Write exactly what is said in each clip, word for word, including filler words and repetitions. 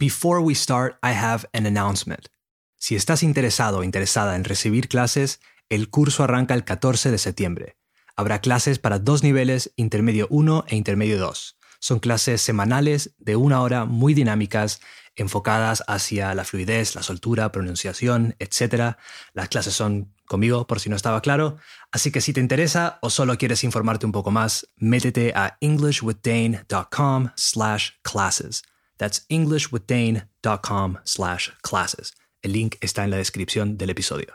Before we start, I have an announcement. Si estás interesado o interesada en recibir clases, el curso arranca el catorce de septiembre. Habrá clases para dos niveles, intermedio uno e intermedio dos. Son clases semanales de una hora muy dinámicas, enfocadas hacia la fluidez, la soltura, pronunciación, etcétera. Las clases son conmigo, por si no estaba claro. Así que si te interesa o solo quieres informarte un poco más, métete a englishwithdane.com slash classes. That's englishwithdane.com slash classes. El link está en la descripción del episodio.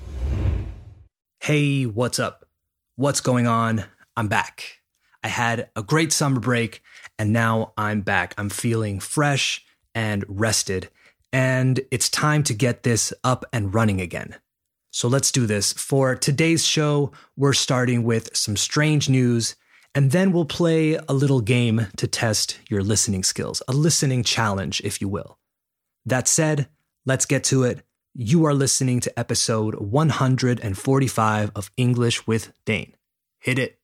Hey, what's up? What's going on? I'm back. I had a great summer break, and now I'm back. I'm feeling fresh and rested, and it's time to get this up and running again. So let's do this. For today's show, we're starting with some strange news, and then we'll play a little game to test your listening skills, a listening challenge, if you will. That said, let's get to it. You are listening to episode one forty-five of English with Dane. Hit it.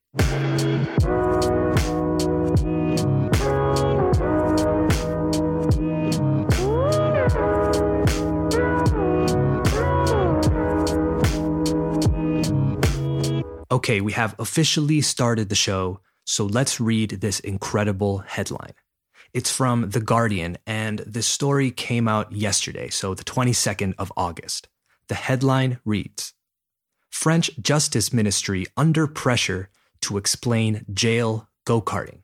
Okay, we have officially started the show, so let's read this incredible headline. It's from The Guardian, and this story came out yesterday, so the twenty-second of August. The headline reads, French Justice Ministry under pressure to explain jail go-karting.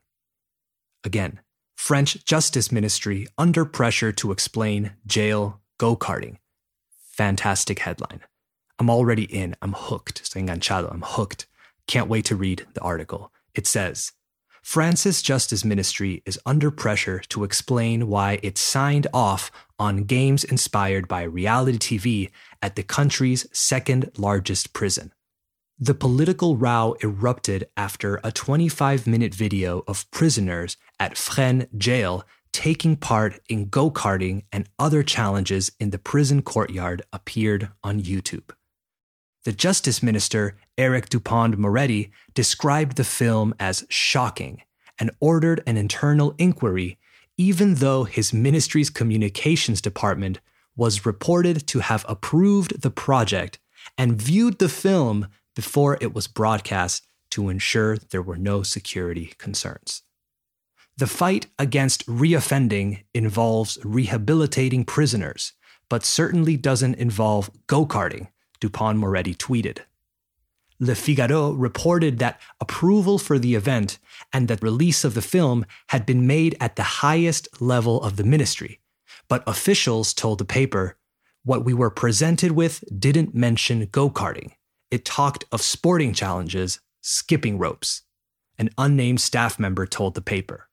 Again, French Justice Ministry under pressure to explain jail go-karting. Fantastic headline. I'm already in. I'm hooked. Estoy enganchado. I'm hooked. Can't wait to read the article. It says, France's Justice Ministry is under pressure to explain why it signed off on games inspired by reality T V at the country's second largest prison. The political row erupted after a twenty-five minute video of prisoners at Fresnes jail taking part in go-karting and other challenges in the prison courtyard appeared on YouTube. The Justice Minister, Eric Dupond-Moretti, described the film as shocking and ordered an internal inquiry, even though his ministry's communications department was reported to have approved the project and viewed the film before it was broadcast to ensure there were no security concerns. The fight against reoffending involves rehabilitating prisoners, but certainly doesn't involve go-karting, Dupond-Moretti tweeted. Le Figaro reported that approval for the event and that release of the film had been made at the highest level of the ministry, but officials told the paper, what we were presented with didn't mention go-karting. It talked of sporting challenges, skipping ropes. An unnamed staff member told the paper.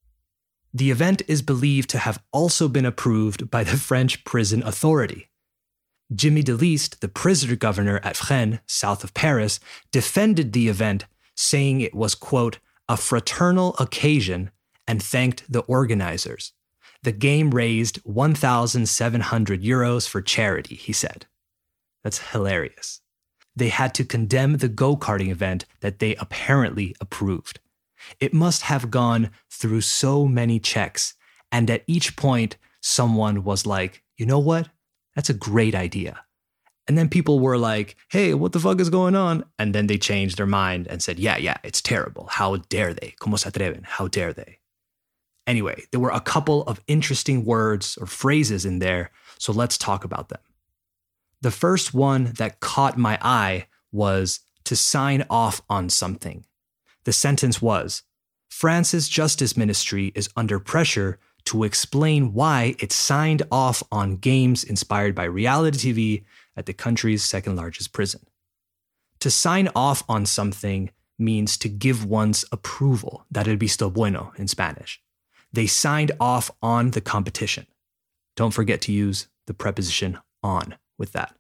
The event is believed to have also been approved by the French prison authority. Jimmy Deliste, the prisoner governor at Fresnes, south of Paris, defended the event, saying it was, quote, a fraternal occasion and thanked the organizers. The game raised one thousand seven hundred euros for charity, he said. That's hilarious. They had to condemn the go-karting event that they apparently approved. It must have gone through so many checks, and at each point, someone was like, you know what? That's a great idea. And then people were like, hey, what the fuck is going on? And then they changed their mind and said, yeah, yeah, it's terrible. How dare they? ¿Cómo se atreven? How dare they? Anyway, there were a couple of interesting words or phrases in there, so let's talk about them. The first one that caught my eye was to sign off on something. The sentence was, France's Justice Ministry is under pressure to explain why it signed off on games inspired by reality T V at the country's second largest prison. To sign off on something means to give one's approval, dar el visto bueno in Spanish. They signed off on the competition. Don't forget to use the preposition on with that.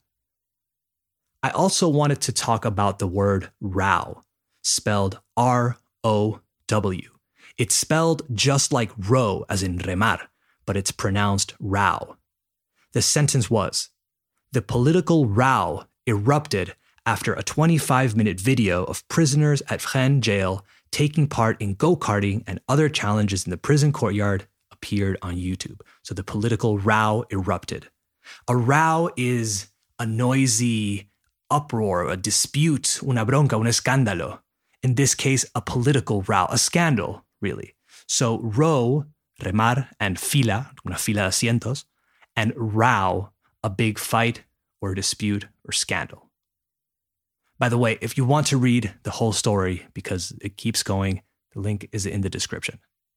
I also wanted to talk about the word row, spelled R O W. It's spelled just like row, as in remar, but it's pronounced row. The sentence was, the political row erupted after a twenty-five minute video of prisoners at Fresnes jail taking part in go-karting and other challenges in the prison courtyard appeared on YouTube. So the political row erupted. A row is a noisy uproar, a dispute, una bronca, un escándalo. In this case, a political row, a scandal, really. So row, remar, and fila, una fila de asientos, and row, a big fight or dispute or scandal. By the way, if you want to read the whole story, because it keeps going, the link is in the description.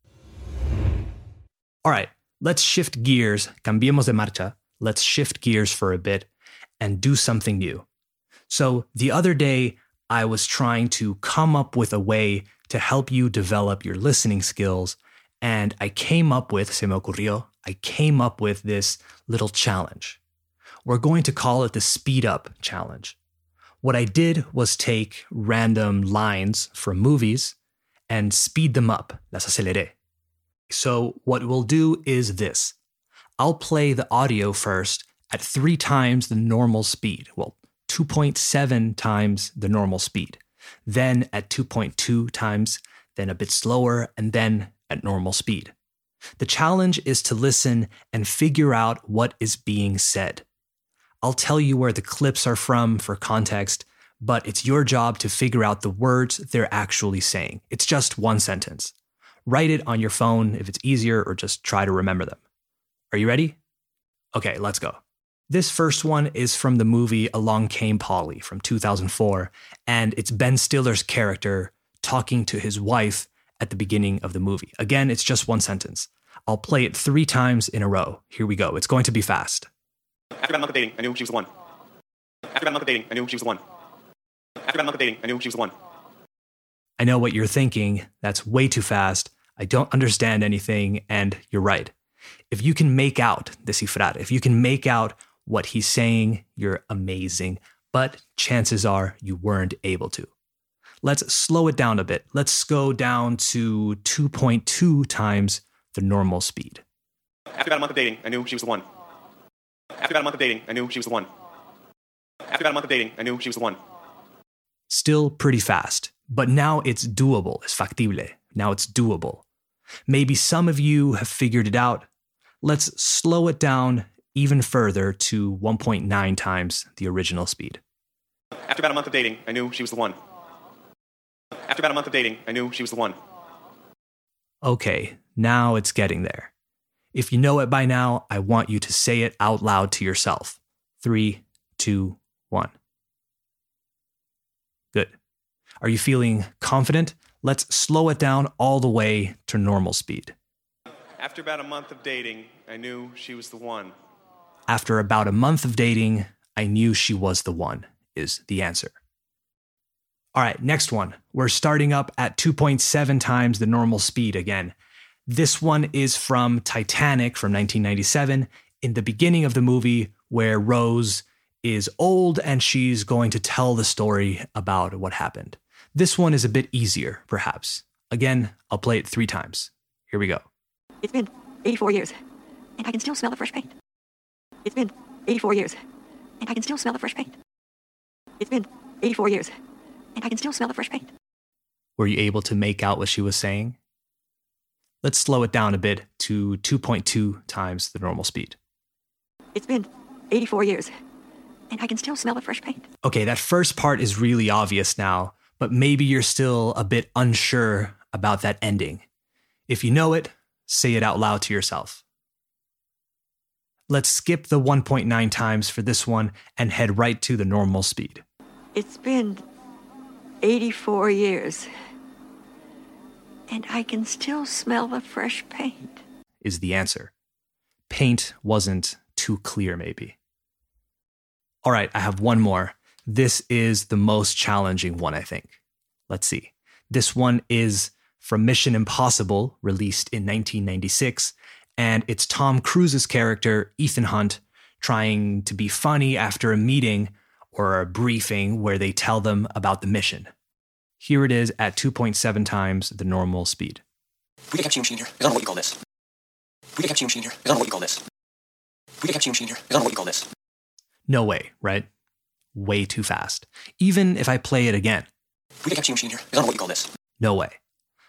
All right, let's shift gears. Cambiemos de marcha. Let's shift gears for a bit and do something new. So the other day, I was trying to come up with a way to help you develop your listening skills, and I came up with, se me ocurrió, I came up with this little challenge. We're going to call it the Speed Up Challenge. What I did was take random lines from movies and speed them up, las aceleré. So what we'll do is this. I'll play the audio first at three times the normal speed. Well, two point seven times the normal speed. Then at two point two times, then a bit slower, and then at normal speed. The challenge is to listen and figure out what is being said. I'll tell you where the clips are from for context, but it's your job to figure out the words they're actually saying. It's just one sentence. Write it on your phone if it's easier, or just try to remember them. Are you ready? Okay, let's go. This first one is from the movie Along Came Polly from two thousand four, and it's Ben Stiller's character talking to his wife at the beginning of the movie. Again, it's just one sentence. I'll play it three times in a row. Here we go. It's going to be fast. After about a month of dating, I knew she was the one. After about a month of dating, I knew she was the one. After about a month of dating, I knew she was the one. I know what you're thinking. That's way too fast. I don't understand anything, and you're right. If you can make out, descifrar, if you can make out what he's saying, you're amazing. But chances are you weren't able to. Let's slow it down a bit. Let's go down to two point two times the normal speed. After about a month of dating, I knew she was the one. After about a month of dating, I knew she was the one. After about a month of dating, I knew she was the one. Still pretty fast, but now it's doable. Es factible. Now it's doable. Maybe some of you have figured it out. Let's slow it down even further to one point nine times the original speed. After about a month of dating, I knew she was the one. After about a month of dating, I knew she was the one. Okay, now it's getting there. If you know it by now, I want you to say it out loud to yourself. Three, two, one. Good. Are you feeling confident? Let's slow it down all the way to normal speed. After about a month of dating, I knew she was the one. After about a month of dating, I knew she was the one, is the answer. All right, next one. We're starting up at two point seven times the normal speed again. This one is from Titanic from nineteen ninety-seven, in the beginning of the movie where Rose is old and she's going to tell the story about what happened. This one is a bit easier, perhaps. Again, I'll play it three times. Here we go. It's been eighty-four years, and I can still smell the fresh paint. It's been eighty-four years, and I can still smell the fresh paint. It's been eighty-four years, and I can still smell the fresh paint. Were you able to make out what she was saying? Let's slow it down a bit to two point two times the normal speed. It's been eighty-four years, and I can still smell the fresh paint. Okay, that first part is really obvious now, but maybe you're still a bit unsure about that ending. If you know it, say it out loud to yourself. Let's skip the one point nine times for this one and head right to the normal speed. It's been eighty-four years, and I can still smell the fresh paint. Is the answer. Paint wasn't too clear, maybe. All right, I have one more. This is the most challenging one, I think. Let's see. This one is from Mission Impossible, released in nineteen ninety-six, and it's Tom Cruise's character, Ethan Hunt, trying to be funny after a meeting or a briefing where they tell them about the mission. Here it is at two point seven times the normal speed. We get cappuccino machine here. I don't know what you call this. We get cappuccino machine here. I don't know what you call this. We get cappuccino machine here. I don't know what you call this. No way, right? Way too fast. Even if I play it again. We get cappuccino machine here. I don't know what you call this. No way.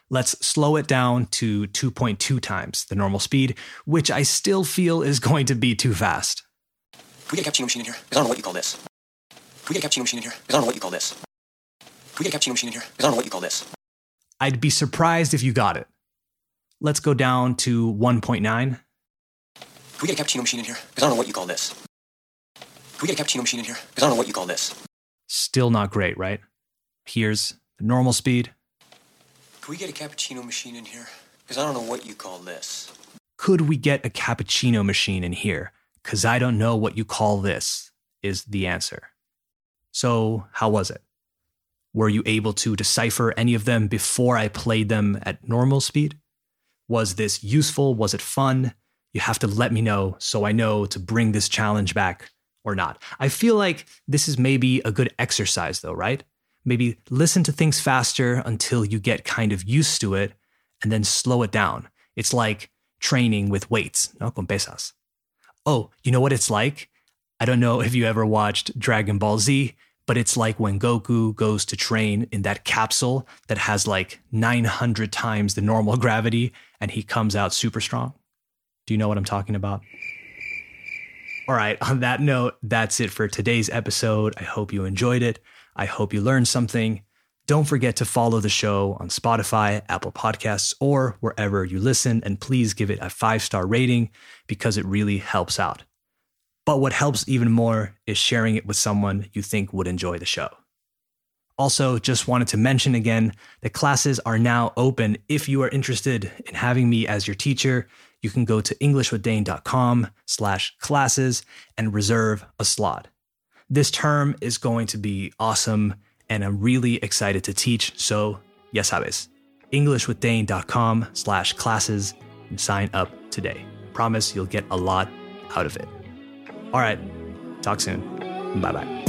Let's slow it down to two point two times the normal speed, which I still feel is going to be too fast. Can we get a cappuccino machine in here? Because I don't know what you call this. Can we get a cappuccino machine in here? Because I don't know what you call this. Can we get a cappuccino machine in here? Because I don't know what you call this. I'd be surprised if you got it. Let's go down to one point nine. Can we get a cappuccino machine in here? Because I don't know what you call this. Can we get a cappuccino machine in here? Because I don't know what you call this. Still not great, right? Here's the normal speed. Can we get a cappuccino machine in here? Because I don't know what you call this. Could we get a cappuccino machine in here? Because I don't know what you call this, is the answer. So, how was it? Were you able to decipher any of them before I played them at normal speed? Was this useful? Was it fun? You have to let me know so I know to bring this challenge back or not. I feel like this is maybe a good exercise though, right? Maybe listen to things faster until you get kind of used to it and then slow it down. It's like training with weights, no? Con pesas. Oh, you know what it's like? I don't know if you ever watched Dragon Ball Z, but it's like when Goku goes to train in that capsule that has like nine hundred times the normal gravity and he comes out super strong. Do you know what I'm talking about? All right, on that note, that's it for today's episode. I hope you enjoyed it. I hope you learned something. Don't forget to follow the show on Spotify, Apple Podcasts, or wherever you listen, and please give it a five-star rating because it really helps out. But what helps even more is sharing it with someone you think would enjoy the show. Also, just wanted to mention again that classes are now open. If you are interested in having me as your teacher, you can go to englishwithdane.com slash classes and reserve a slot. This term is going to be awesome, and I'm really excited to teach, so ya sabes, englishwithdane.com slash classes and sign up today. Promise you'll get a lot out of it. All right, talk soon. Bye-bye.